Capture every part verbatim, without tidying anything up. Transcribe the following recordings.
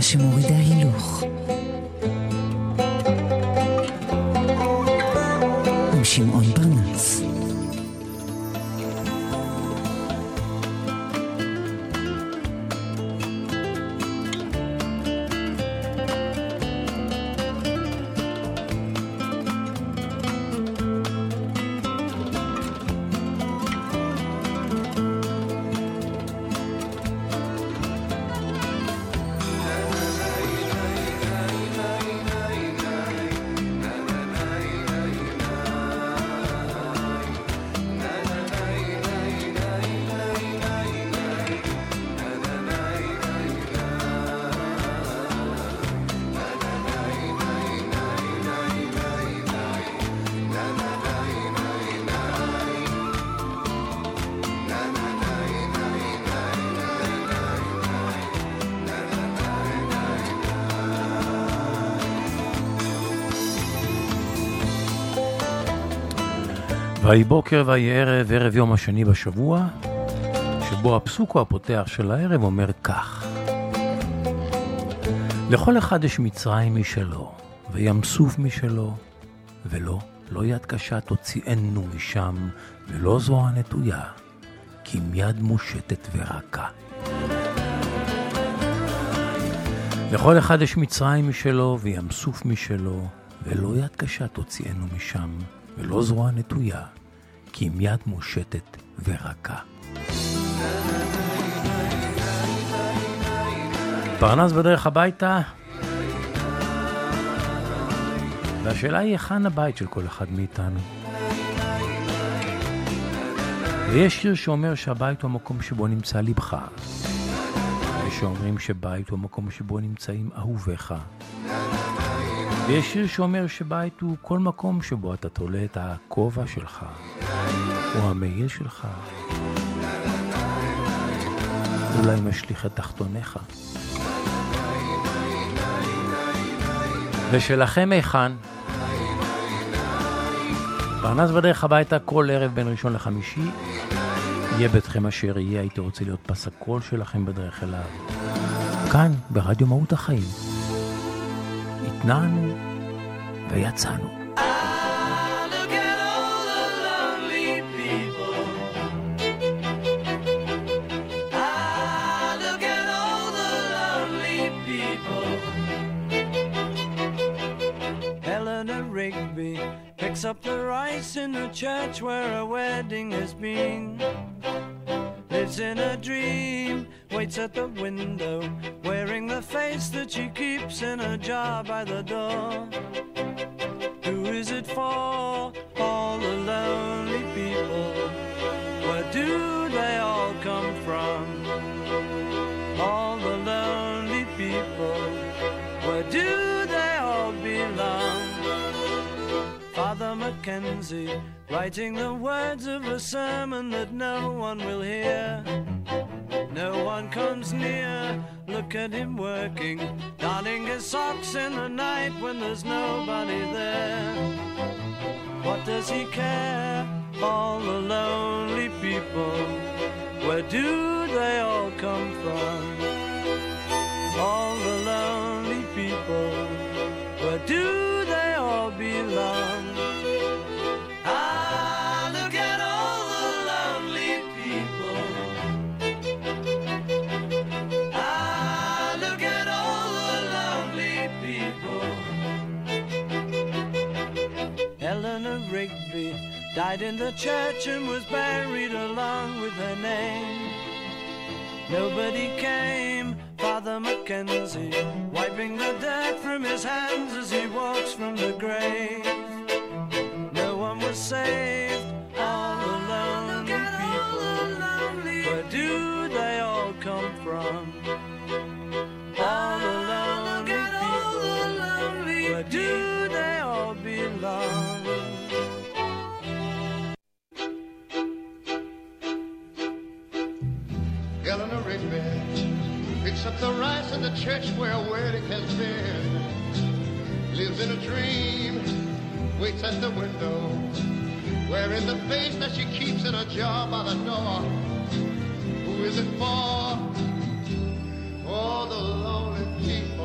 שמורידה הילוך. עם שמעון פרנס. ויהי בוקר ויהי ערב, ערב יום השני בשבוע, שבו הפסוק הפותח של הערב אומר כך: לכל אחד יש מצרים משלו, וים סוף משלו, ולא, לא יד קשה תוציאנו משם, ולא זרוע נטויה, כי עם יד מושטת ורכה. לכל אחד יש מצרים משלו, וים סוף משלו, ולא יד קשה תוציאנו משם, ולא זרוע נטויה, כי עם יד מושטת ורכה. פרנס בדרך הביתה, והשאלה היא היכן הבית של כל אחד מאיתנו. ויש שיר שאומר שהבית הוא המקום שבו נמצא לבך, ויש שאומרים שבית הוא המקום שבו נמצאים אהוביך, ויש שיר שאומר שבית הוא כל מקום שבו אתה תולה את הכובע שלך, או המעיל שלך, אולי משליך את תחתוניך. ושלכם היכן? פרנס בדרך הביתה כל ערב בין ראשון לחמישי, יהיה ביתכם אשר יהיה, הייתי רוצה להיות פס הקול שלכם בדרך אליו. כאן ברדיו מהות החיים. התנענו ויצאנו. Up the rice in the church where a wedding has been. Lives in a dream, waits at the window, wearing the face that she keeps in a jar by the door. Who is it for? All the lonely people. Where do they all come from? All the lonely people. Where do they all belong? Father Mackenzie, writing the words of a sermon that no one will hear. No one comes near, look at him working, darning his socks in the night when there's nobody there. What does he care? All the lonely people, where do they all come from? All the lonely people, where do they all belong? Died in the church and was buried along with her name. Nobody came, Father Mackenzie, wiping the dirt from his hands as he walks from the grave. No one was saved, all the lonely people. Where do they all come from? All the lonely people. Where do they all belong? Eleanor Rigby picks up the rice in the church where a wedding has been. Lives in a dream, waits at the window, wearing the face that she keeps in a jar by the door. Who is it for? All the lonely people.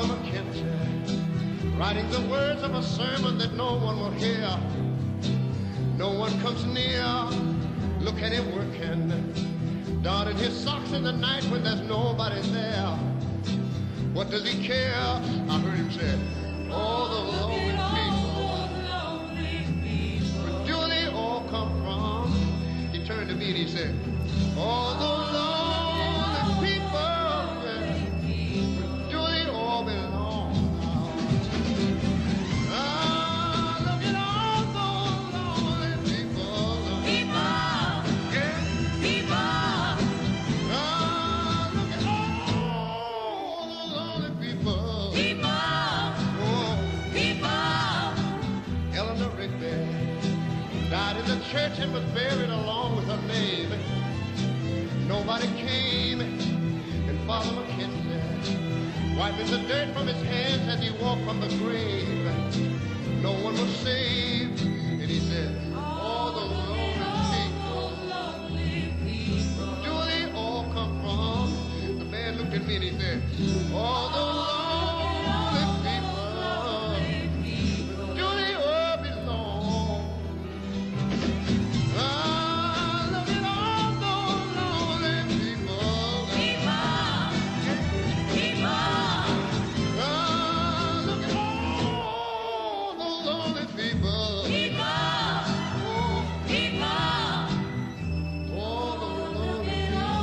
Father McKenzie, writing the words of a sermon that no one will hear. No one comes near, look at him working, darning his socks in the night when there's nobody there. What does he care? I heard him say, all the lonely people, where do they all come from? He turned to me and he said, all the lonely people, where do they all belong? Ah, look at all those lonely people. People, yeah. People. Ah, look at all those lonely people. People. Oh. People. Eleanor Rigby died in the church and was buried along with her name. Nobody came, and Father McKenzie, wiping the dirt from his hands as he walked from the grave. No one was saved, and he said, all the lonely people, where do they all come from? The man looked at me and he said, all the lonely people, where do they all belong? Ah, look at all those lonely people. People, people. Ah, look at all those lonely people. People, people. All the lonely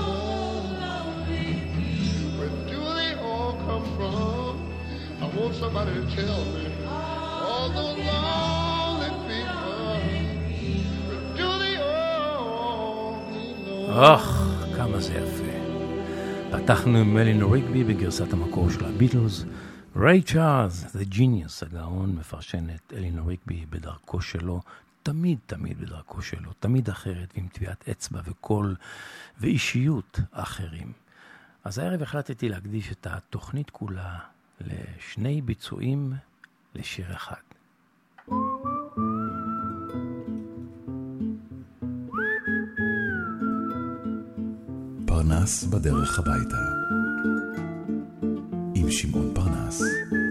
people. Where do they all come from? I want somebody to tell me. All those lonely people. Do they all belong? אך, כמה זה יפה. פתחנו עם אלינור ריגבי בגרסת המקור של הביטלס. ריי צ'ארלס, The Genius, הגאון, מפרשן את אלינור ריגבי בדרכו שלו, תמיד תמיד בדרכו שלו, תמיד אחרת, ועם טביעת אצבע וקול ואישיות אחרים. אז הערב החלטתי להקדיש את התוכנית כולה לשני ביצועים לשיר אחד. פרנס בדרך הביתה עם שמעון פרנס.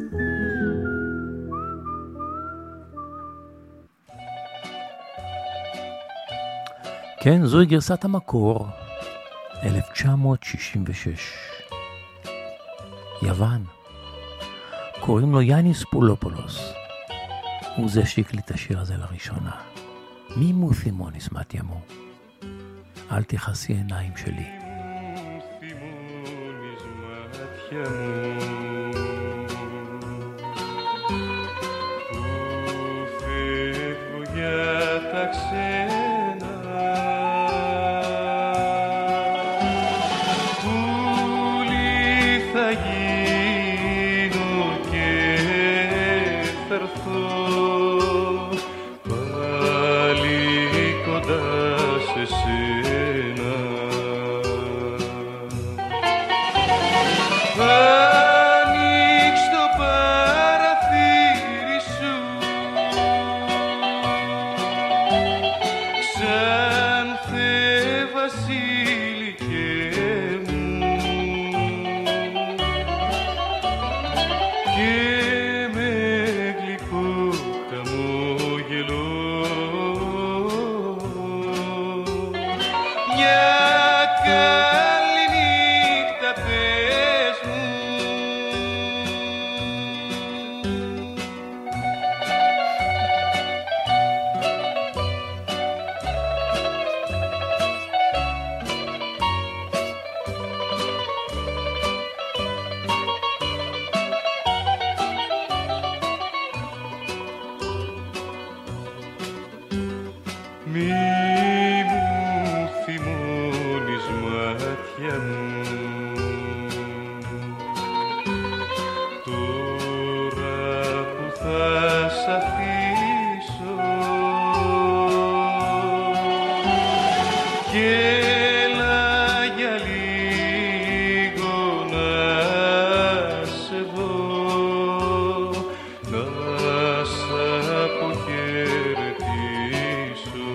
כן, זוהי גרסת המקור, אלף תשע מאות שישים ושש. יוון. קוראים לו יאניס פולופולוס. הוא זה שהקליט את השיר הזה לראשונה. מי מותימוניס מתימו? אל תכסי עיניים שלי.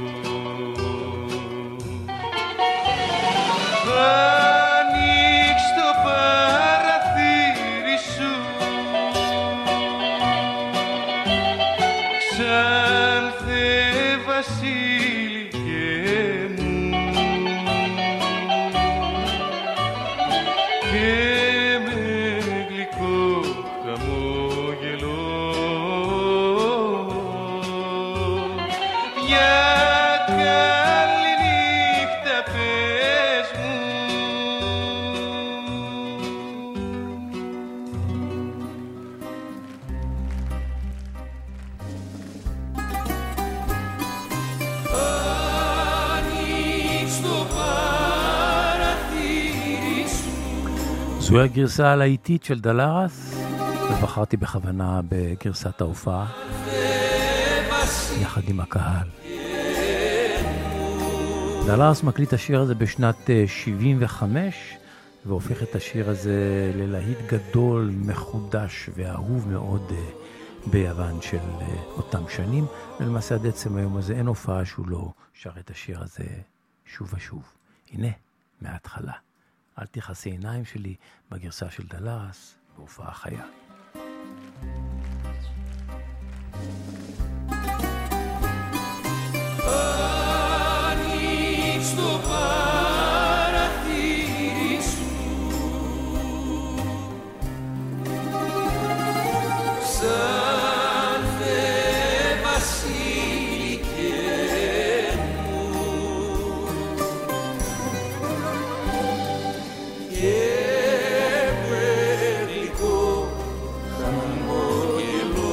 Ανοίξ' και με γλυκό χαμόγελο για καλή νύχτα πες μου. זוהי הגרסה הלהיטית של דלרס, ובחרתי בכוונה בגרסת ההופעה יחד עם הקהל. דלרס מקליט השיר הזה בשנת שבעים וחמש והופך את השיר הזה ללהיט גדול, מחודש ואהוב מאוד ביוון של אותם שנים, ולמעשה עד עצם היום הזה אין הופעה שהוא לא שר את השיר הזה שוב ושוב. הנה, מההתחלה. אל תכסי עיניים שלי בגרסה של דלרס בהופעה חיה. Ανοίξ το παραθύρι σου σαν Θεέ βασίλικέ μου και με γλυκό χαμόγελο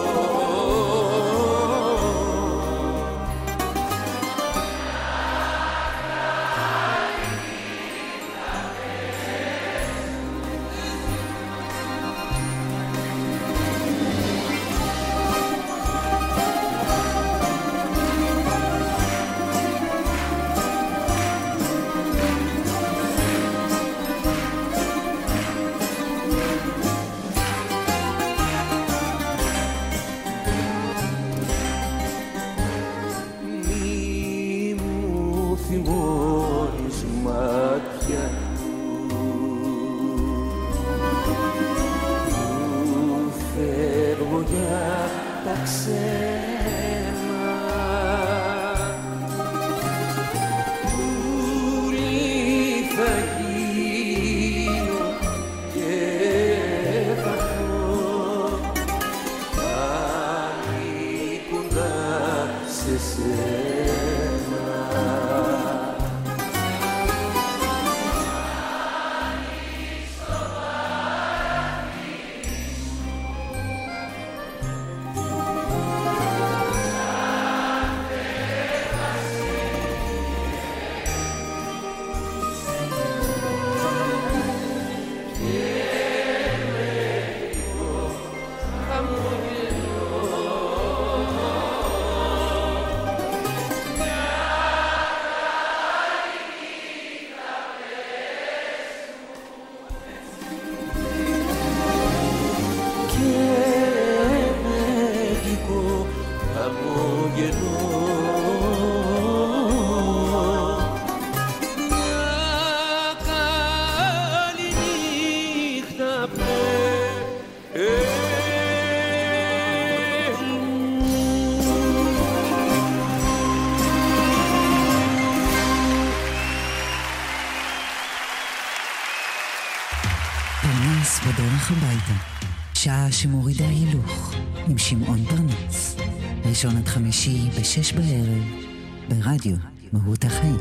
בדרך הביתה, שעה שמורידה הילוך עם שמעון פרנס, ראשון עד חמישי בשש בערב ברדיו מהות החיים.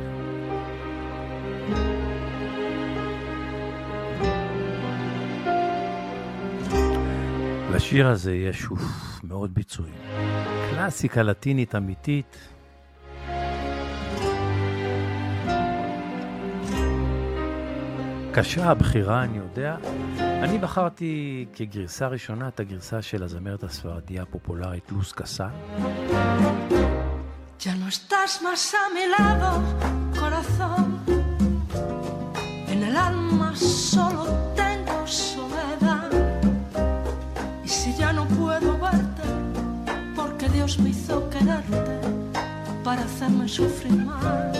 לשיר הזה יש שוב מאוד ביצועים, קלאסיקה לטינית אמיתית. קשה הבחירה, אני יודע. אני בחרתי כגרסה ראשונה את הגרסה של הזמרת הספרדיה הפופולרית לוז קסל. Ya no estás más a mi lado, corazón. En el alma solo tengo soledad. Y si ya no puedo verte, porque Dios me hizo quererte para hacerme sufrir más.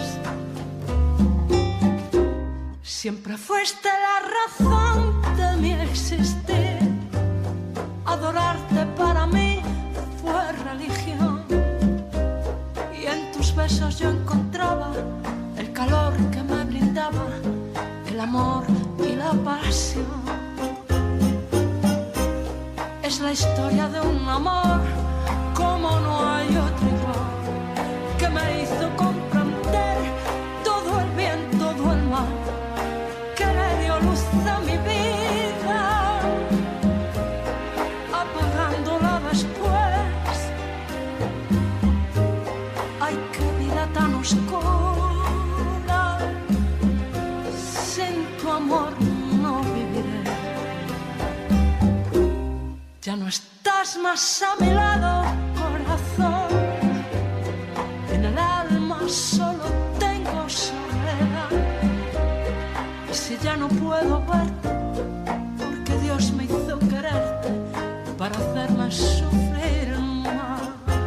Siempre fuiste la razón de mi existir. Adorarte para mí fue religión. Y en tus besos yo encontraba el calor que me brindaba el amor y la la pasión. Es la historia de un amor como no hay otro igual, que me hizo comprender todo el bien, todo el mal, que le dio luz a mi vida, apagándola después. Ay, qué vida tan oscura, sin tu amor no viviré. Ya no estás más a mi lado, corazón. En el alma solo tengo soledad. Y si ya no puedo verte, porque Dios me hizo quererte para hacerme sufrir más.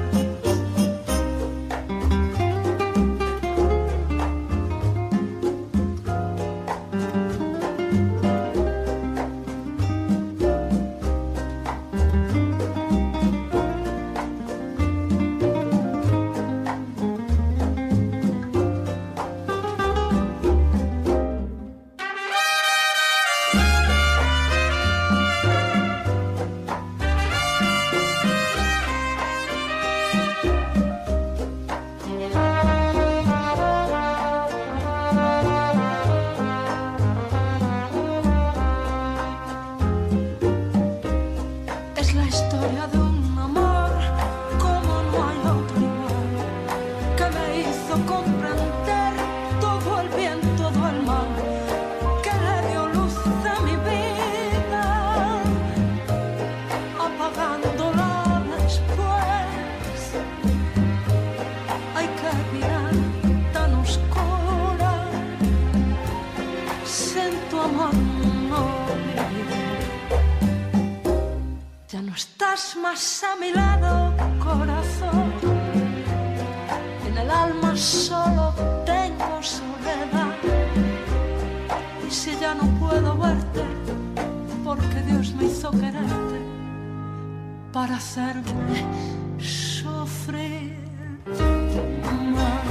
Más a mi lado, corazón. En el alma solo tengo soledad. Y si ya no puedo verte, porque Dios me hizo quererte para hacerme sufrir más.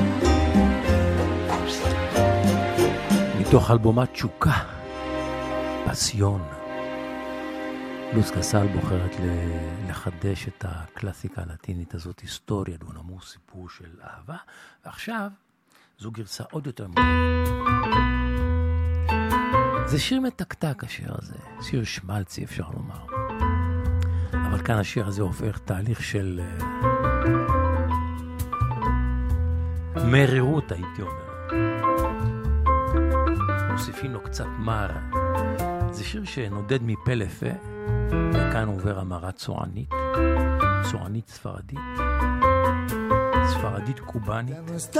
מתוך אלבומה תשוקה, פסיון. לוז קסל בוחרת לחדש את הקלאסיקה הלטינית הזאת, היסטוריה דו נמוס, סיפור של אהבה, ועכשיו זו גרסה עוד יותר מובן. זה שיר מתקתק השיר הזה, שיר שמלצי אפשר לומר. אבל כאן השיר הזה הופך תהליך של מרירות, הייתי אומר. מוסיפים לו קצת מר. זה שיר שנודד מפה לפה, וכאן עובר המרה צוענית, צוענית ספרדית, ספרדית קובנית,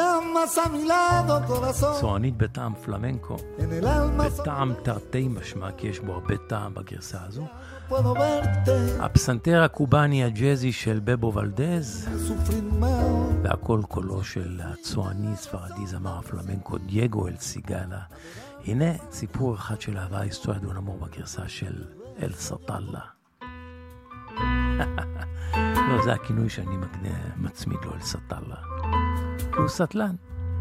צוענית בטעם פלמנקו, בטעם תרתי משמע, כי יש בו הרבה טעם בגרסה הזו. הפסנתר הקובני הג'זי של בבו ולדז, והכל קולו של הצועני ספרדי זמר הפלמנקו דייגו אל סיגלה. הנה סיפור אחד של אהבה, היסטוריה דו נמור בגרסה של אל סטלה. לא, זה הכינוי שאני מגנה, מצמיד לו אל סטלה. כי הוא סטלן.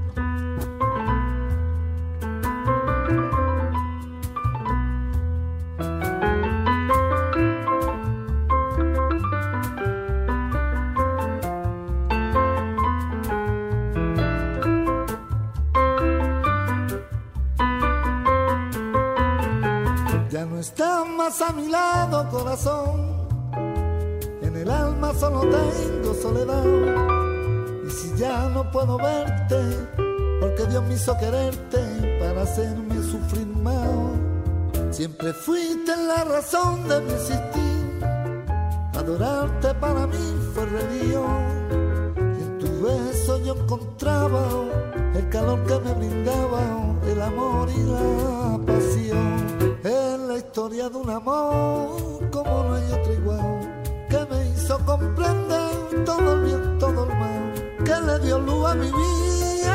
A mi lado, corazón, en el alma solo tengo soledad. Y si ya no puedo verte, porque Dios me hizo quererte para hacerme sufrir más. Siempre fuiste la razón de mi existir, adorarte para mí fue religión. Y en tu beso yo encontraba el calor que me brindaba, el amor y la pasión. Es la historia de un amor como no hay otro igual, que me hizo comprender todo el bien, todo el mal, que le dio luz a mi vida,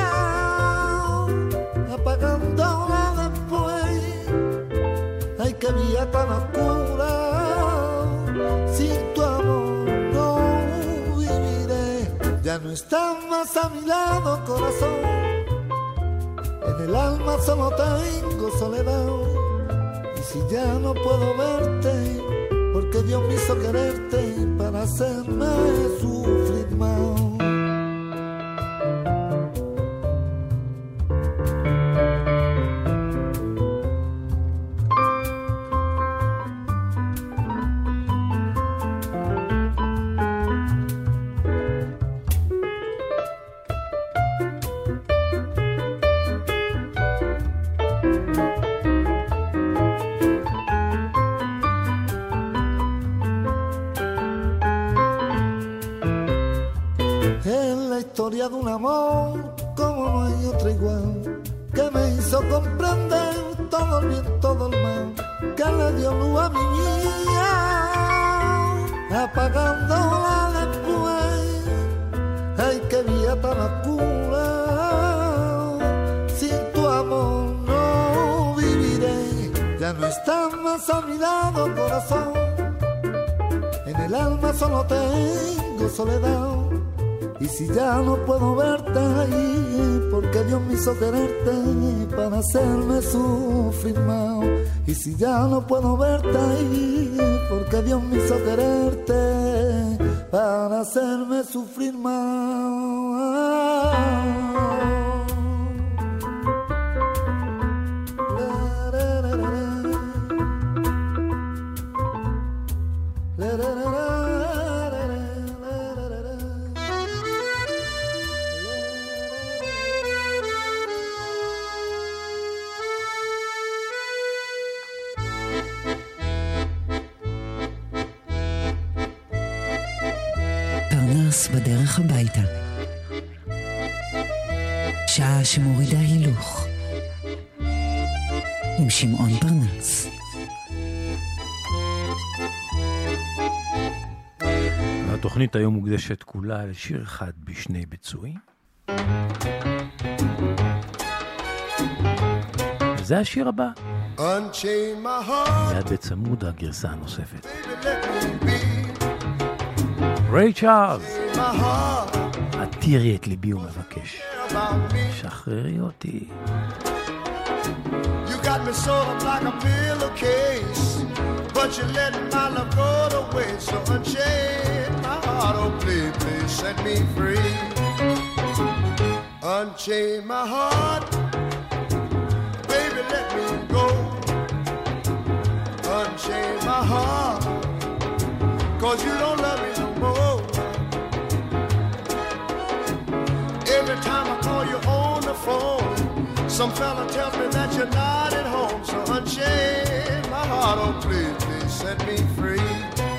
apagándola después. Ay, qué vida tan oscura, sin tu amor no viviré. Ya no estás más a mi lado, corazón, en el alma solo tengo soledad. si ya no puedo verte, porque Dios me hizo quererte para hacerme sufrir más. De un amor como no hay otro igual, que me hizo comprender todo el bien, todo el mal, que le dio luz a mi vida, apagándola después. Ay, qué vida tan oscura, sin tu amor no viviré. Ya no estás más a mi lado, corazón, en el alma solo tengo soledad. Y si ya no puedo verte ahí, porque Dios me hizo quererte para hacerme sufrir más. Y si ya no puedo verte ahí, porque Dios me hizo quererte para hacerme sufrir más. בדרך הביתה, שעה שמורידה הילוך עם שמעון פרנס. התוכנית היום מוקדשת כולה לשיר אחד בשני ביצועים, זה השיר הבא, מיד בצמוד הגרסה הנוספת. ריי צ'ארלס, עתירי את ליבי ומבקש, שחררי אותי. You got me sort of like a pillowcase, but you let my love go to waste. So unchain my heart, oh please, please set me free. Unchain my heart, baby, let me go. Unchain my heart, cause you don't love me no more. Every time I call you on the phone, some fella tells me that you're not at home. So unchain my heart, oh please, please set me free.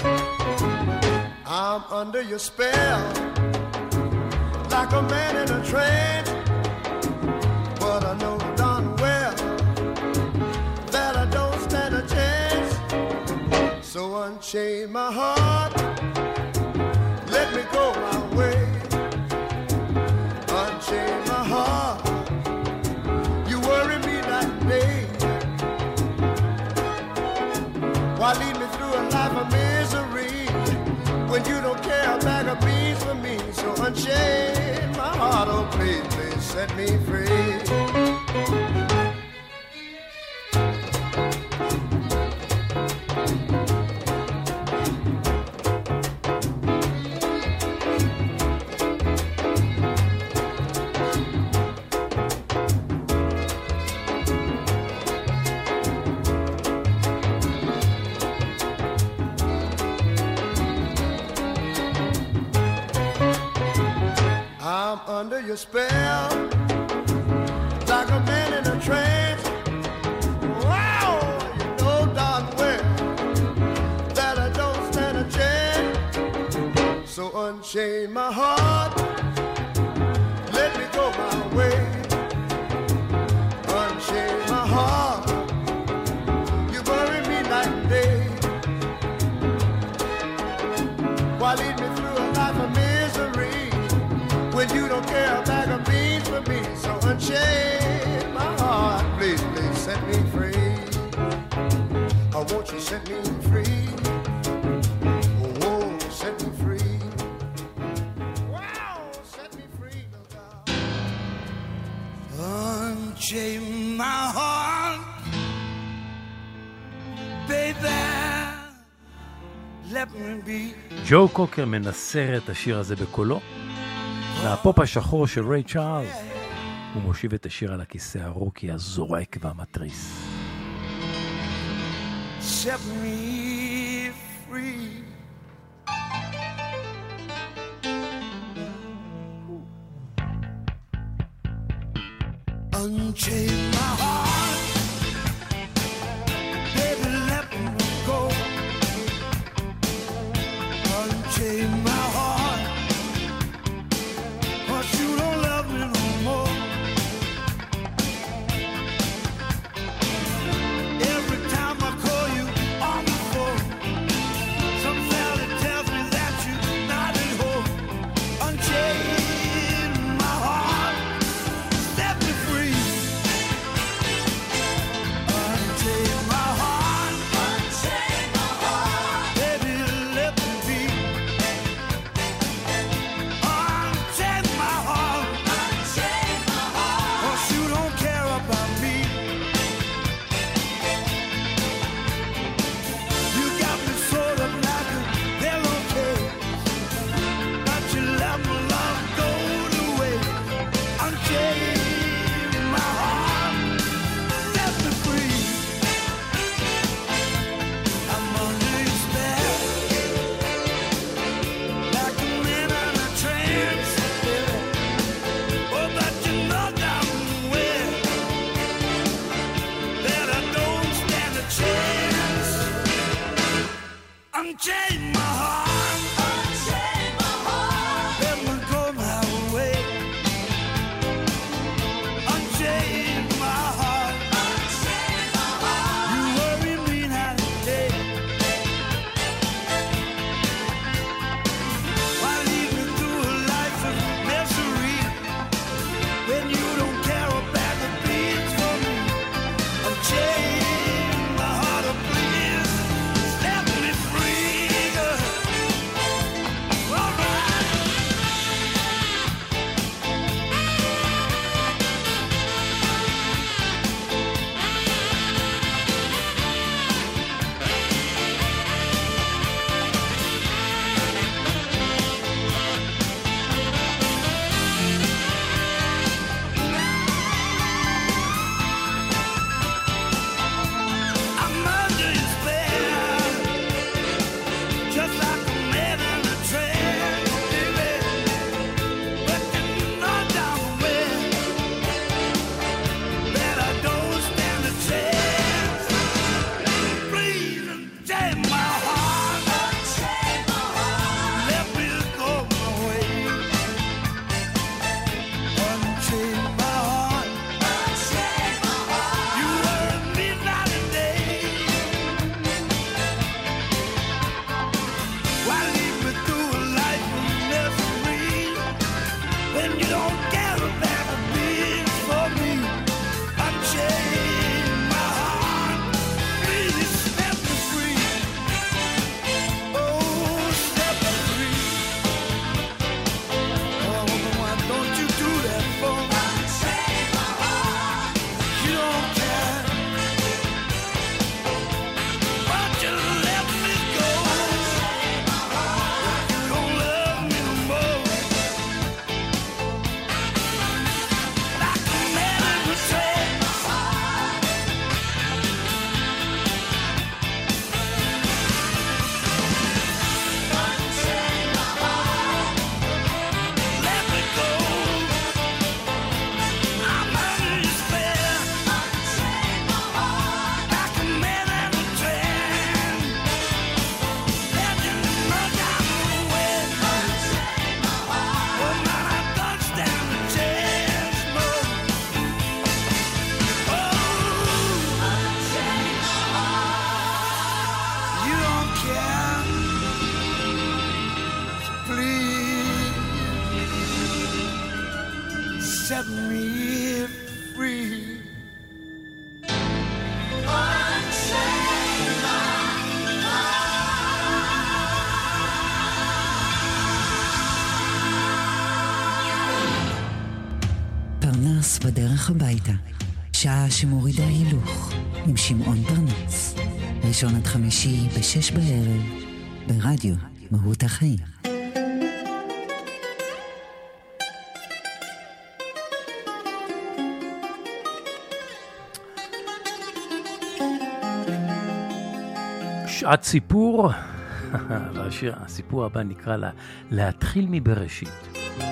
I'm under your spell, like a man in a trance, but I know darn well that I don't stand a chance. So unchain my heart, let me go my way. Unchain my heart, you worry me night and day. Why lead me through a life of misery when you don't care a bag of beans for me? So unchain my heart, oh please, please set me free. Under your spell, like a man in a trance. Wow, you know darn well that I don't stand a chance. So unchain my heart, let me go my way. Unchain my heart, you bury me night and day. Why lead me through a life of misery when you don't care a bag of beans for me? So unchain my heart, please, please set me free. I want you set me free. Oh, oh, set me free. Wow, set me free, no doubt. Unchain my heart, let me be. ג'ו קוקר מנסר את השיר הזה בקולו, והפופ השחור של ריי צ'ארלס, הוא מושיב את השיר על הכיסא הרוקי הזורק והמטריס. Set me free. Unchain my heart, baby, let me go. Unchain my heart, 'cause you don't love me no more. Every time I call you on the phone, some valley tells me that you're not at home. Unchain my heart, set me free. Unchain my heart, unchain my heart, baby, let me be. Unchain my heart, unchain my heart, 'cause you don't care about me. You got me sort of like a pillowcase, but you let my love go to waste. Unchain my heart, set me free. I'm under your spell, like a man in a trance. Oh, but you know damn well that I don't stand a chance. Unchain my heart, unchain my heart, let me go my way. Unchain my heart, unchain my heart, you worry me night and day. Why lead me through a life of misery when you don't care about the beats for me? Unchain my heart, oh please, set me free, girl. All right. I'm under your spell, just like a man in a trance, baby. But you know damn well that I don't stand a chance. Please unchain my heart, unchain my heart, let me go my way. Unchain my heart, unchain my heart, you worry me night and day. Why lead me through a life of misery when you don't care about the beats for me? Unchain my heart, please set me free. Oh, set me free. Oh, why don't you do that for me? Unchain my heart, you don't care, but you let me go. Unchain my heart, you don't love me no more. Like a man in a trance. Unchain my heart, let me go. I'm under your spell. Unchain my heart, like a man in a trance. Let you know damn well. Unchain my heart, oh man, I don't stand a chance, no. Oh, unchain my heart, you don't care. Please set me free. Unchain my פרנס בדרך הביתה, שעה שמורידה הילוך, עם שמעון פרנס. ראשון עד חמישי בשש בערב, ברדיו מהות החיים. שעת סיפור, והשיר, הסיפור הבא נקרא לה להתחיל מבראשית.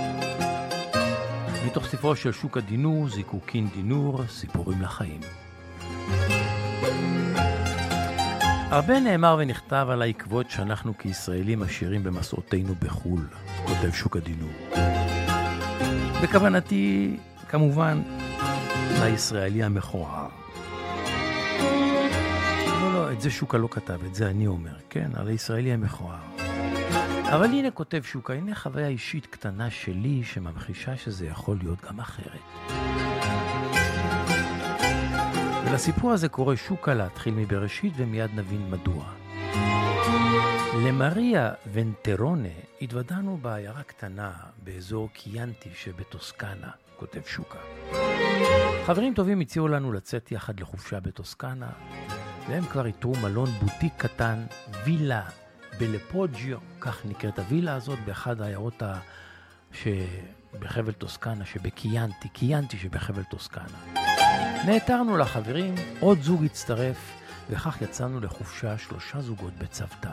מתוך ספרו של שוקה דינור, זיקוקין דינור, סיפורים לחיים. הרבה נאמר ונכתב על העקבות שאנחנו כישראלים עשירים במסעותינו בחול, כותב שוקה דינור. בכוונתי, כמובן, לישראלי המכוער. לא, לא, את זה שוקה לא כתב, את זה אני אומר, כן, על הישראלי המכוער. אבל הנה כותב שוקה, הנה חוויה אישית קטנה שלי שממחישה שזה יכול להיות גם אחרת. ולסיפור הזה קורא שוקה להתחיל מבראשית ומיד נבין מדוע. למריה ונטרונה התוודענו בעיירה קטנה באזור קיאנטי שבטוסקנה, כותב שוקה. חברים טובים הציעו לנו לצאת יחד לחופשה בטוסקנה, והם כבר איתרו מלון בוטיק קטן, וילה בלפוג'יו, כך נקראת הווילה הזאת, באחד העיירות ה... שבחבל טוסקנה, שבקיאנטי, קיאנטי שבחבל טוסקנה. נעתרנו לחברים, עוד זוג הצטרף, וכך יצאנו לחופשה שלושה זוגות בצוותא.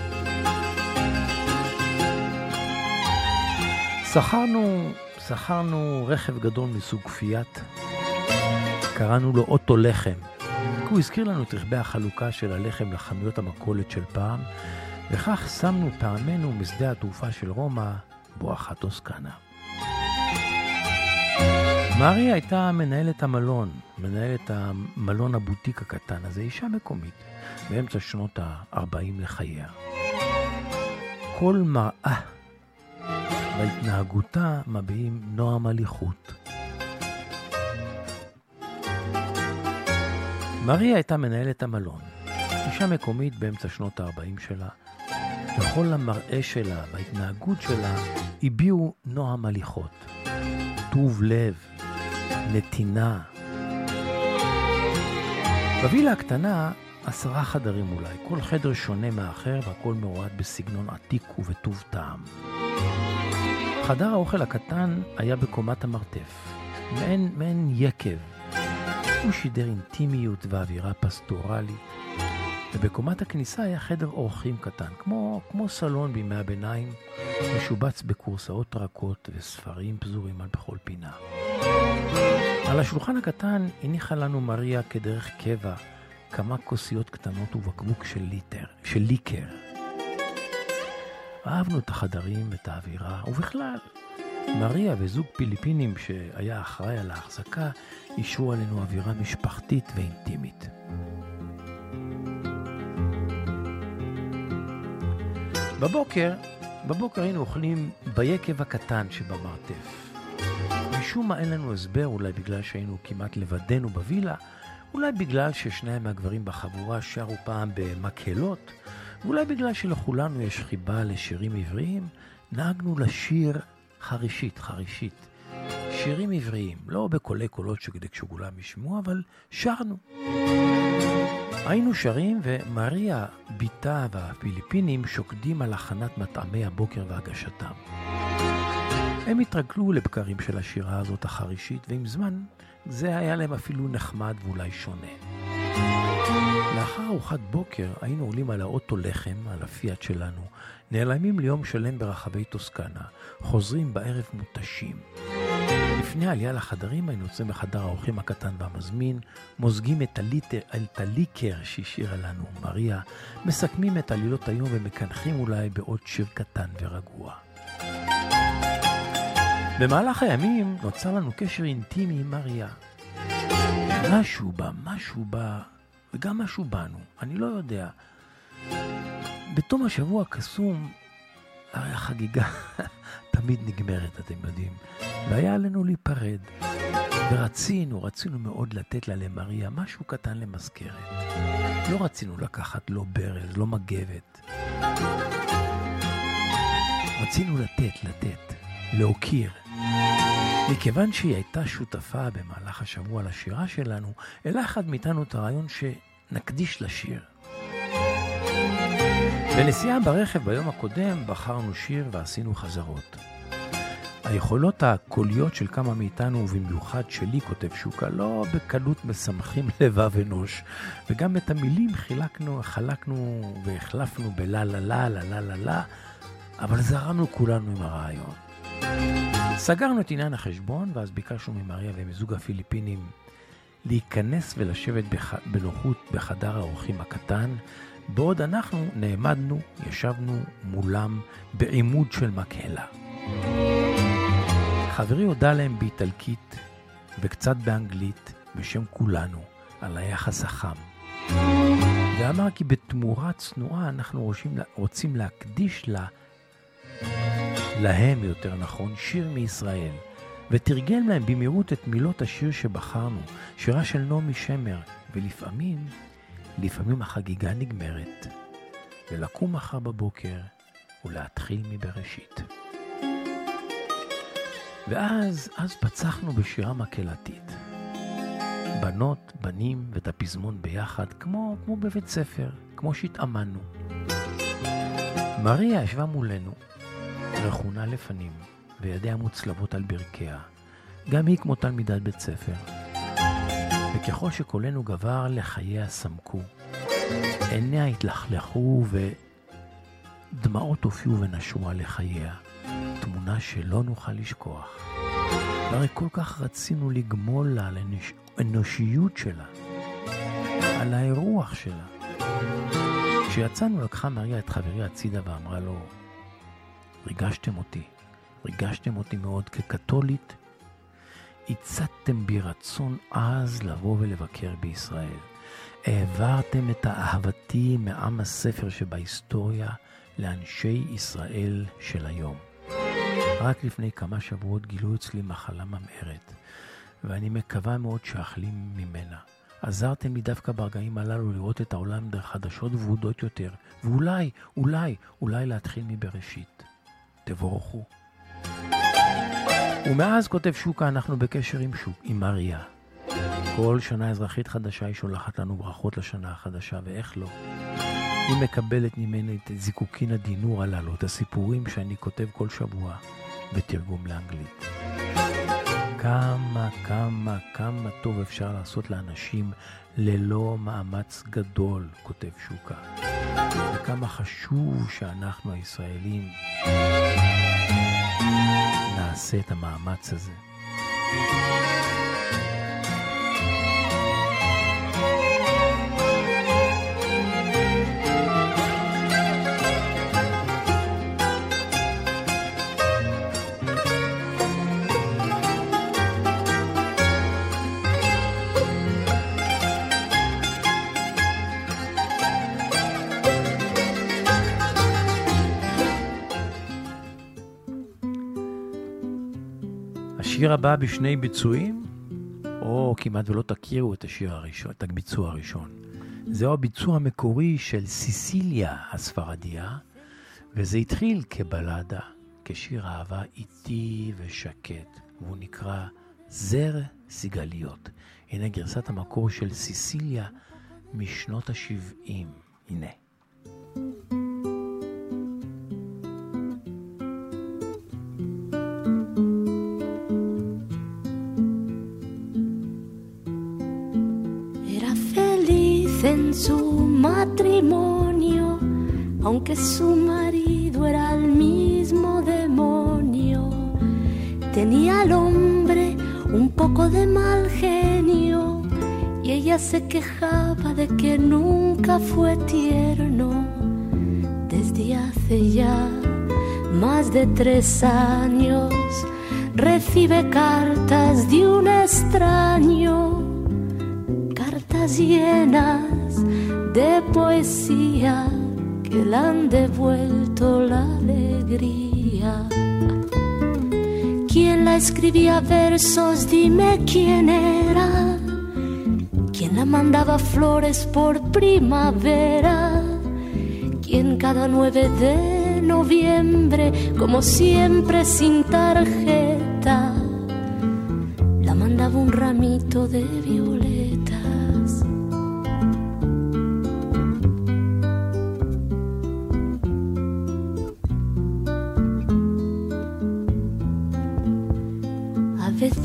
שכרנו, שכרנו רכב גדול מסוג פיאט, קראנו לו אוטו לחם, כי הוא הזכיר לנו את רכבי החלוקה של הלחם לחנויות המכולת של פעם, וכך שמנו פעמנו משדה התעופה של רומא, בואכה טוסקנה. מריה הייתה מנהלת המלון, מנהלת המלון הבוטיק הקטן הזה, אישה מקומית, באמצע שנות ה-ארבעים לחייה. כל מראה בהתנהגותה מביעים נועם הליכות. מריה הייתה מנהלת המלון, אישה מקומית באמצע שנות ה-ארבעים שלה, וכל המראה שלה וההתנהגות שלה הביעו נועם הליכות, טוב לב, נתינה. בווילה הקטנה עשרה חדרים אולי, כל חדר שונה מאחר והכל מעורד בסגנון עתיק ובטוב טעם. חדר האוכל הקטן היה בקומת המרתף, מעין, מעין יקב. הוא שידר אינטימיות ואווירה פסטורלית. ובקומת הכניסה היה חדר אורחים קטן, כמו, כמו סלון בימי הביניים, משובץ בקורסאות רכות וספרים פזורים על בכל פינה. על השולחן הקטן הניחה לנו מריה כדרך קבע כמה כוסיות קטנות ובקבוק של ליטר, של ליקר. אהבנו את החדרים ואת האווירה, ובכלל, מריה וזוג פיליפינים שהיה אחראי על ההחזקה, אישרו עלינו אווירה משפחתית ואינטימית. בבוקר, בבוקר היינו אוכלים ביקב הקטן שבמרתף. משום מה אין לנו הסבר, אולי בגלל שהיינו כמעט לבדנו בווילה, אולי בגלל ששניים מהגברים בחבורה שרו פעם במקהלות, ואולי בגלל שלכולנו יש חיבה לשירים עבריים, נהגנו לשיר חרישית, חרישית. שירים עבריים, לא בקולי קולות שכדי כשכולם ישמעו, אבל שרנו. היינו שרים ומריה, ביתה והפיליפינים שוקדים על הכנת מטעמי הבוקר והגשתם. הם התרגלו לבקרים של השירה הזאת החרישית, ועם זמן זה היה להם אפילו נחמד ואולי שונה. לאחר ארוחת בוקר היינו עולים על האוטו לחם, על הפיאט שלנו, נעלמים ליום שלם ברחבי טוסקנה, חוזרים בערב מותשים. לפני העלייה לחדרים היינו יוצאים בחדר האורחים הקטן והמזמין, מוזגים את הליטר, את הליקר שהשאירה לנו מריה, מסכמים את עלילות היום ומקנחים אולי בעוד שיר קטן ורגוע. במהלך הימים נוצר לנו קשר אינטימי עם מריה. משהו בה, משהו בה, וגם משהו בנו, אני לא יודע. בתום השבוע הקסום, הרי החגיגה תמיד נגמרת, אתם יודעים, והיה עלינו להיפרד. ורצינו, רצינו מאוד לתת לה למריה משהו קטן למזכרת. לא רצינו לקחת לא ברז, לא מגבת. רצינו לתת, לתת, להוקיר. מכיוון שהיא הייתה שותפה במהלך השבוע לשירה שלנו, אלא אחד מאיתנו את הרעיון שנקדיש לשיר. בנסיעה ברכב ביום הקודם בחרנו שיר ועשינו חזרות. היכולות הקוליות של כמה מאיתנו, ובמיוחד שלי, כותב שוקה, לא בקלות משמחים לבב אנוש, וגם את המילים חילקנו, חלקנו והחלפנו בלה לה לה לה לה לה לה, אבל זרמנו כולנו עם הרעיון. סגרנו את עניין החשבון, ואז ביקשנו ממריה ומזוג הפיליפינים להיכנס ולשבת בח... בנוחות בחדר האורחים הקטן, בעוד אנחנו נעמדנו, ישבנו מולם בעימוד של מקהלה. חברי הודע להם באיטלקית וקצת באנגלית בשם כולנו על היחס החם. ואמר כי בתמורה צנועה אנחנו רוצים, רוצים להקדיש לה, להם יותר נכון, שיר מישראל. ותרגם להם במהירות את מילות השיר שבחרנו, שירה של נעמי שמר, ולפעמים, לפעמים החגיגה נגמרת, ולקום מחר בבוקר ולהתחיל מבראשית. ואז, אז פצחנו בשירה מקהלתית. בנות, בנים ואת הפזמון ביחד, כמו, כמו בבית ספר, כמו שהתאמנו. מריה ישבה מולנו, רכונה לפנים, וידיה מוצלבות על ברכיה. גם היא כמו תלמידת בית ספר. וככל שקולנו גבר, לחייה סמקו. עיניה התלכלכו ודמעות הופיעו ונשרו על לחייה. תמונה שלא נוכל לשכוח. והרי כל כך רצינו לגמול לה על האנושיות שלה, על האירוח שלה. כשיצאנו לקחה מריה את חברי הצידה ואמרה לו, ריגשתם אותי, ריגשתם אותי מאוד כקתולית, הצעתם בי רצון עז לבוא ולבקר בישראל. העברתם את אהבתי מעם הספר שבהיסטוריה לאנשי ישראל של היום. רק לפני כמה שבועות גילו אצלי מחלה ממארת, ואני מקווה מאוד שאחלים ממנה. עזרתם לי דווקא ברגעים הללו לראות את העולם דרך חדשות ועודות יותר, ואולי, אולי, אולי להתחיל מבראשית. תבורכו. ומאז, כותב שוקה, אנחנו בקשר עם שוק, עם מריה. כל שנה אזרחית חדשה היא שולחת לנו ברכות לשנה החדשה, ואיך לא? היא מקבלת ממני את זיקוקין הדינור הללו, את הסיפורים שאני כותב כל שבוע בתרגום לאנגלית. כמה, כמה, כמה טוב אפשר לעשות לאנשים ללא מאמץ גדול, כותב שוקה. וכמה חשוב שאנחנו הישראלים נעשה את המאמץ הזה. השיר הבא בשני ביצועים, או כמעט ולא תכירו את השיר הראשון, את הביצוע הראשון. זהו הביצוע המקורי של סיסיליה הספרדיה, וזה התחיל כבלדה, כשיר אהבה איטי ושקט, והוא נקרא זר סיגליות. הנה גרסת המקור של סיסיליה משנות ה-שבעים. הנה. En su matrimonio, aunque su marido era el mismo demonio, tenía al hombre un poco de mal genio y ella se quejaba de que nunca fue tierno. Desde hace ya más de tres años recibe cartas de un extraño, cartas llenas de poesía que le han devuelto la alegría. ¿Quién la escribía versos? Dime quién era. ¿Quién la mandaba flores por primavera? ¿Quién cada nueve de noviembre, como siempre sin tarjeta, la mandaba un ramito de violetas?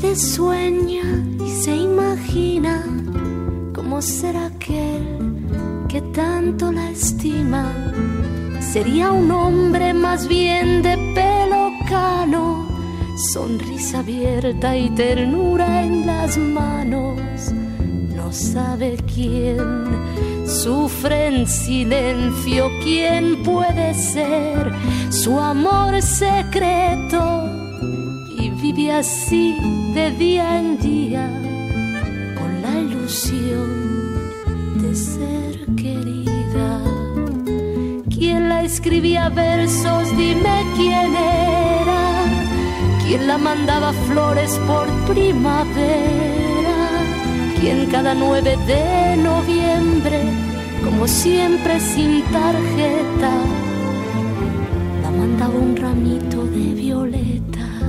veces sueña y se imagina cómo será aquel que tanto la estima. Sería un hombre más bien de pelo cano, sonrisa abierta y ternura en las manos. No sabe quién sufre en silencio, quién puede ser su amor secreto. Y vive así de día en día con la ilusión de ser querida. ¿Quién la escribía versos? Dime quién era. ¿Quién la mandaba flores por primavera? ¿Quién cada nueve de noviembre, como siempre sin tarjeta, la mandaba un ramito de violetas?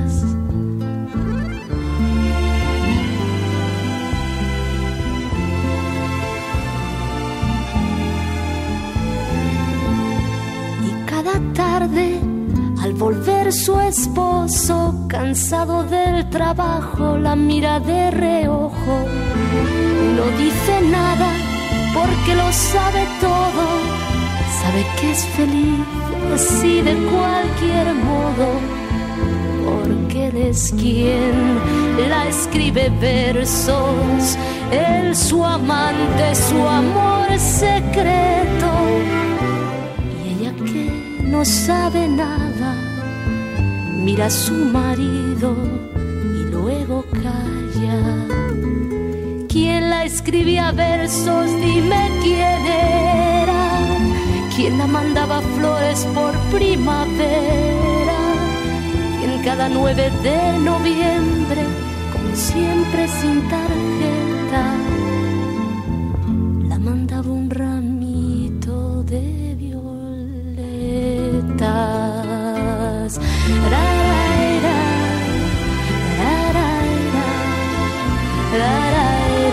Cada tarde, al volver su esposo, cansado del trabajo, la mira de reojo. No dice nada porque lo sabe todo. Sabe que es feliz así de cualquier modo, porque él es quien la escribe versos. Él su amante, su amor secreto. No sabe nada, mira a su marido y luego calla. ¿Quién la escribía versos? Dime quién era. ¿Quién la mandaba flores por primavera? ¿Quién cada nueve de noviembre, como siempre sin tarjeta, la mandaba un ramito de violetas? Ra, ra, ra, ra, ra, ra, ra.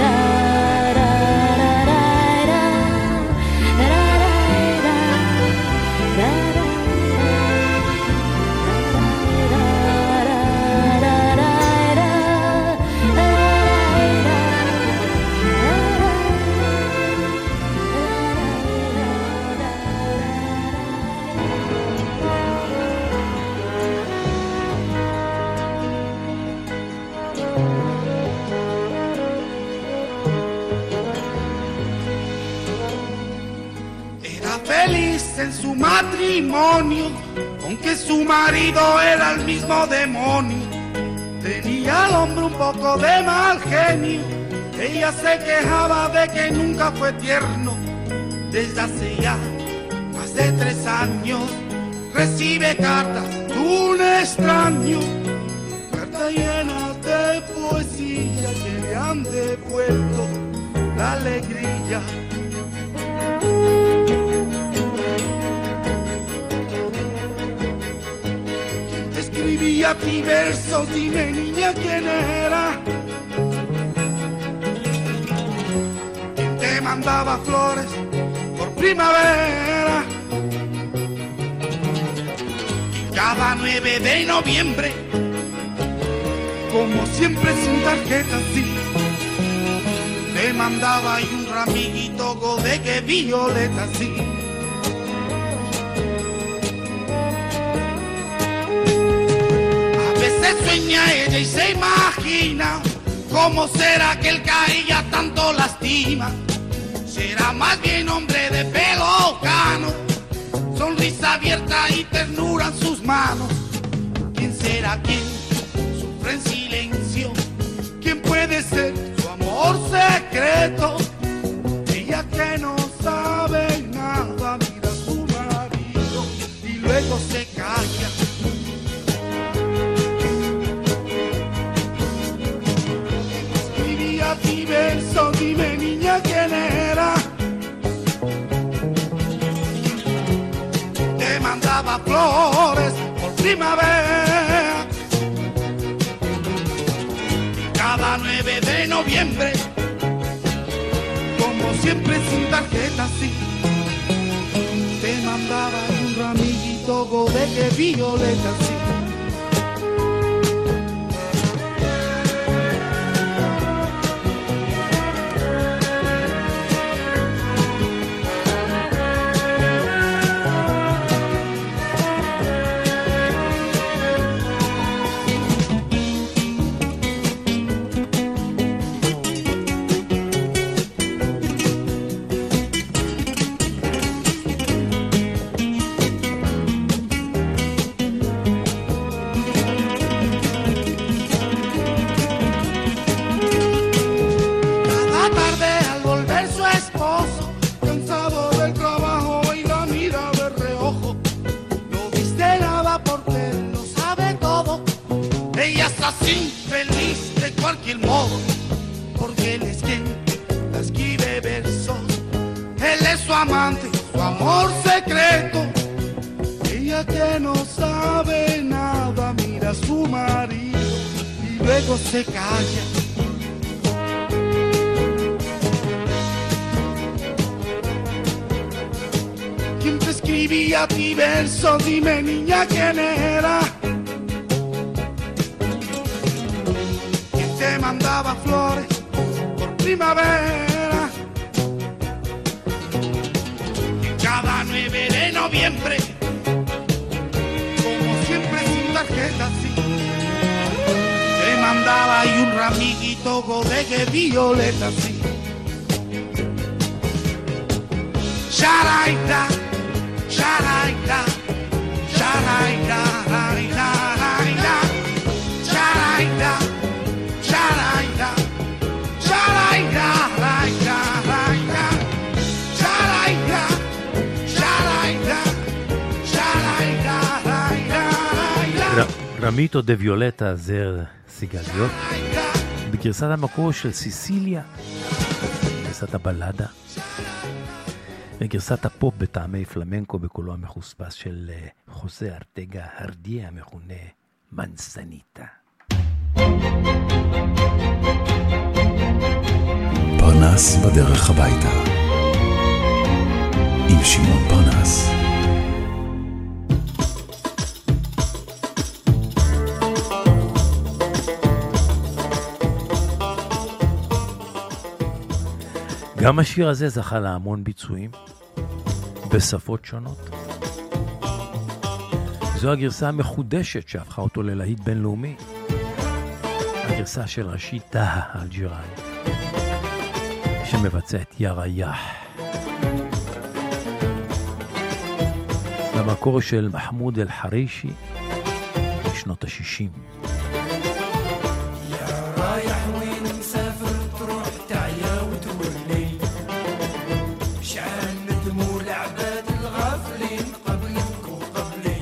En su matrimonio, aunque su marido era el mismo demonio, tenía al hombre un poco de mal genio. Ella se quejaba de que nunca fue tierno. Desde hace ya más de tres años recibe cartas de un extraño, cartas llenas de poesía que le han devuelto la alegría. Escribía ti versos, dime niña quién era. ¿Quién te mandaba flores por primavera? Y cada nueve de noviembre, como siempre sin tarjeta, sí, te mandaba ahí un ramillito de que violeta, sí. Se sueña ella y se imagina cómo será que el que a ella tanto lastima. Será más bien hombre de pelo cano, sonrisa abierta y ternura en sus manos. ¿Quién será quien sufre en silencio? ¿Quién puede ser su amor secreto? Ella que no sabe nada mira a su marido y luego se calla. Y verso, dime niña quién era. Te mandaba flores por primavera. Cada nueve de noviembre, como siempre sin tarjeta, sí, te mandaba un ramillito de que violeta, sí. infeliz de cualquier modo, porque él es quien la escribe versos. Él es su amante, su amor secreto. Ella que no sabe nada mira a su marido y luego se calla. ¿Quién te escribía a ti versos? Dime, niña, ¿quién era? ¿Quién te mandaba flores por primavera? Cada nueve de noviembre, como siempre sin tarjeta, sí, te mandaba ahí un ramiguito de violeta, sí. Sharaita, sharaita, sharaita, sharaita, sharaita, sharaita, sharaita, sharaita, רמיטו דה ויולטה זר סיגליות בגרסת המקור של סיסיליה, גרסת הבלדה וגרסת הפופ בטעמי פלמנקו בקולו המחוספס של חוזה ארטגה הרדיה המכונה מנסניטה. פרנס בדרך הביתה עם שמעון פרנס. גם השיר הזה זכה להמון ביצועים בשפות שונות. זו הגרסה המחודשת שהפכה אותו ללהיט בינלאומי, הגרסה של רשיד טאהא אלג'יראי שמבצע את יא ריח, במקור של מחמוד אל-חרישי בשנות ה-שישים. يا رايح وين مسافر تروح تعيا وتولي شعال ندموا العباد الغافلين قبلك وقبلي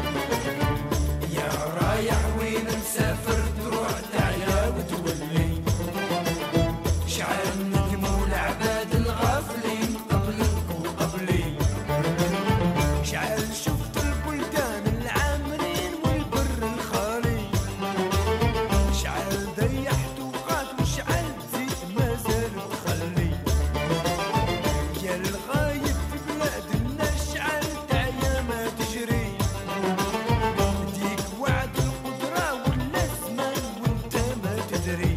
يا رايح وين مسافر تروح تعيا وتولي شعال ندموا العباد الغافلين قبلك وقبلي شعال شفت البلدان العامرين والبر الخالي شعال ضيحت وقات وشعال زيت ما زال تخلي يا الغايب في بلادنا شعال تعيا ما تجري ديك وعد القدرة ولا زمان وانت ما تدري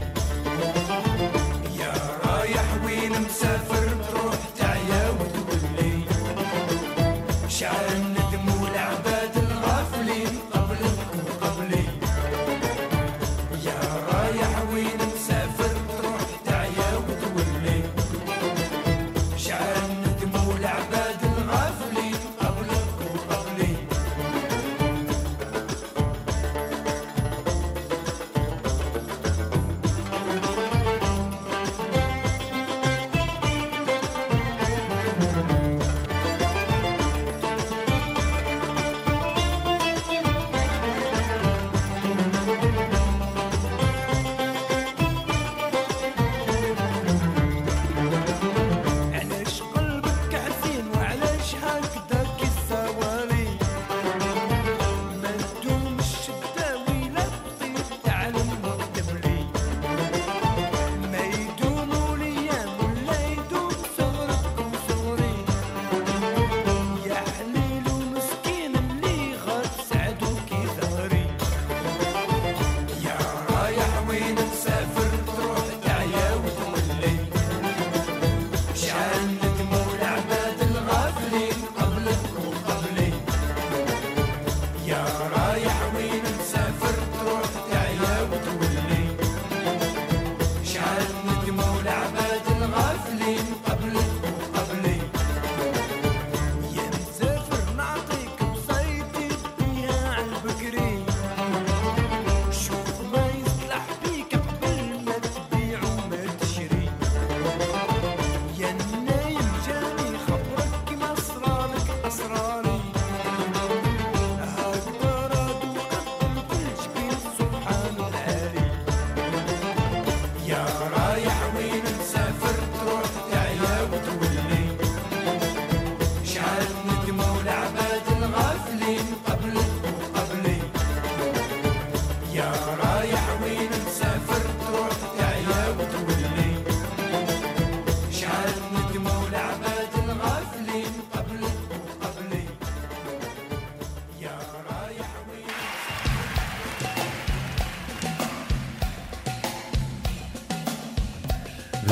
يا رايح وين مسافر تروح تعيا وتولي شعال ندموا العباد الغافلين قبلك وقبلي يا رايح وين مسافر تروح تعيا وتولي شعال ندموا العباد الغافلين قبلك وقبلي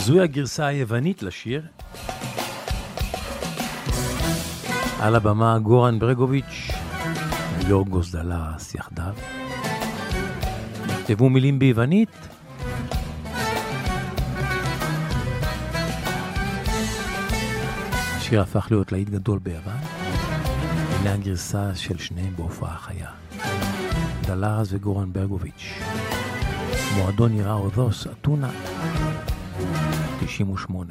זוהי הגרסה היוונית לשיר. על הבמה גורן ברגוביץ' ויורגוס דלס יחדיו. כתבו מילים ביוונית. השיר הפך להיות להיט גדול ביוון. הנה הגרסה של שניהם בהופעה חיה. דלס וגורן ברגוביץ'. מועדון יראה אודוס, אתונה, תשעים ושמונה.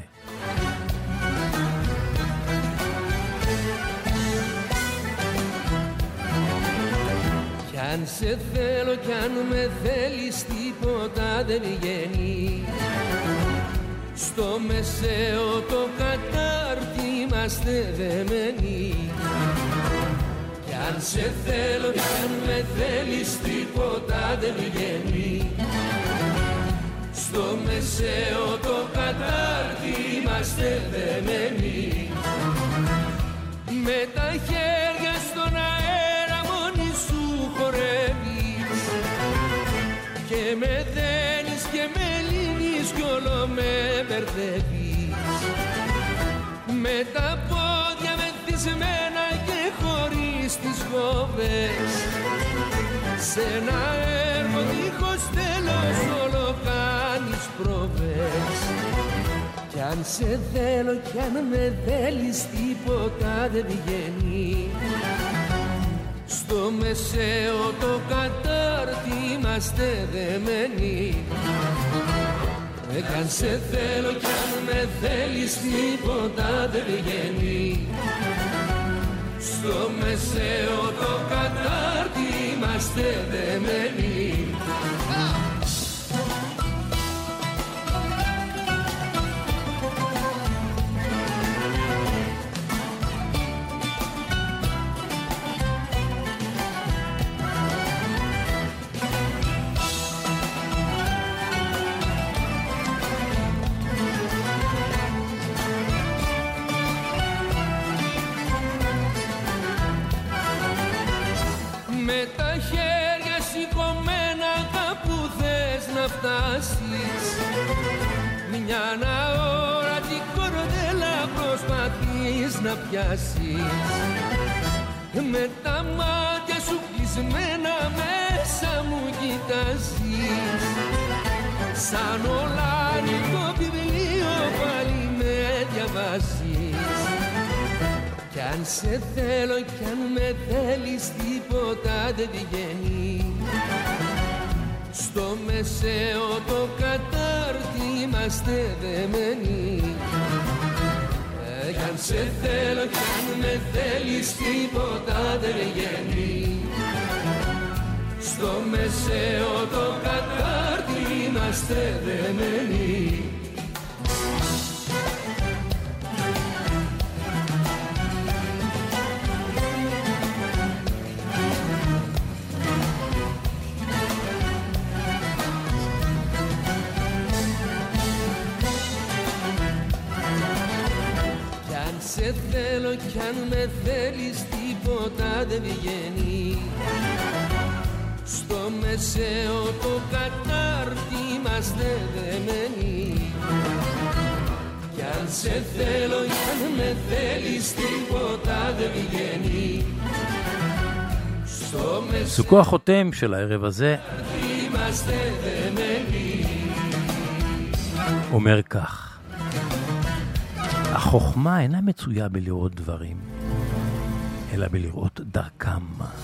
Κι αν σε θέλω κι αν με θέλεις τίποτα δεν βγαίνει. Στο μεσαίο το κατάρτι είμαστε δεμένοι. Κι αν σε θέλω κι αν με θέλεις τίποτα δεν βγαίνει. Στο μεσαίο το κατάρτι είμαστε δεμένοι. Με τα χέρια στον αέρα μόνη σου χορεύεις και με δένεις και με λύνεις κι όλο με μπερδεύεις. Με τα πόδια μεθυσμένα και χωρίς τις φόβες σε ένα έργο δίχως τέλος όλο κάνεις πρόβες. Κι αν σε θέλω κι αν με θέλεις τίποτα δεν βγαίνει. Στο μεσαίο το κατάρτι είμαστε δεμένοι. Κι αν σε θέλω κι αν με θέλεις τίποτα δεν βγαίνει. Στο μεσαίο το κατάρτι είμαστε δεμένοι. Φτάσεις μια αόρατη κορδέλα προσπαθείς να πιάσεις. Με τα μάτια σου κλεισμένα μέσα μου κοιτάζεις. Σαν ολάνικο βιβλίο πάλι με διαβάζεις. Κι αν σε θέλω κι αν με θέλεις τίποτα δεν βγαίνει. Στο μεσαίο το κατάρτι είμαστε δεμένοι. Ε, κι αν σε θέλω κι αν με θέλεις τίποτα δεν βγαίνει. Στο μεσαίο το κατάρτι είμαστε δεμένοι. Σε θέλω κι αν με θέλεις τίποτα δεν βγαίνει. Στο μεσαίο το κατάρτι είμαστε δεμένοι. Κι αν σε θέλω κι αν με θέλεις τίποτα δεν βγαίνει. Στο μεσαίο סוכו החותם של הערב הזה είμαστε δεμένοι. אומר כך: החוכמה אינה מצויה בלראות דברים, אלא בלראות דרכם.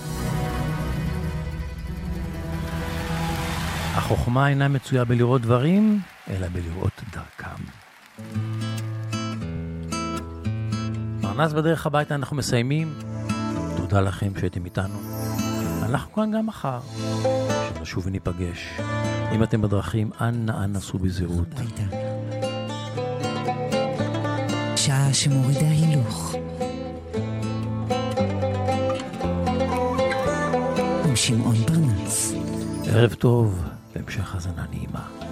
החוכמה אינה מצויה בלראות דברים, אלא בלראות דרכם. פרנס בדרך הביתה אנחנו מסיימים. תודה לכם שהייתם איתנו. אנחנו כאן גם מחר, שנשוב וניפגש. אם אתם בדרכים, אנא אנא סעו בזהירות. שעה שמורידה הילוך עם שמעון פרנס. ערב טוב, להמשך האזנה נעימה.